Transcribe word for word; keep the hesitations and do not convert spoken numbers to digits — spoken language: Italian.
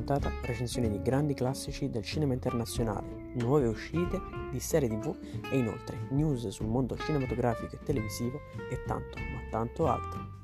puntata recensioni di grandi classici del cinema internazionale, nuove uscite di serie tv e inoltre news sul mondo cinematografico e televisivo e tanto, ma tanto altro.